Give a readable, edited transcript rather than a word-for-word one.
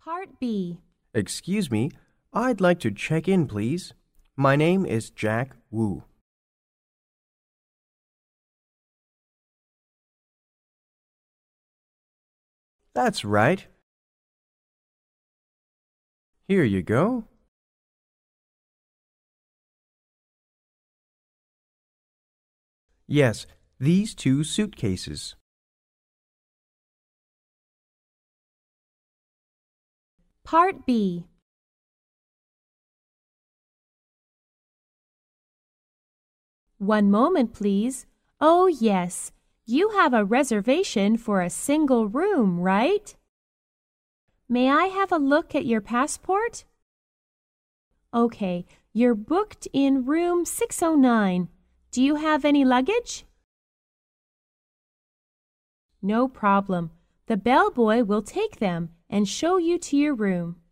Part B. Excuse me, I'd like to check in, please. My name is Jack Wu. That's right. Here you go. Yes, these 2 suitcases. Part B. One moment, please. Oh, yes. You have a reservation for a single room, right? May I have a look at your passport? Okay, you're booked in room 609. Do you have any luggage? No problem. The bellboy will take them and show you to your room.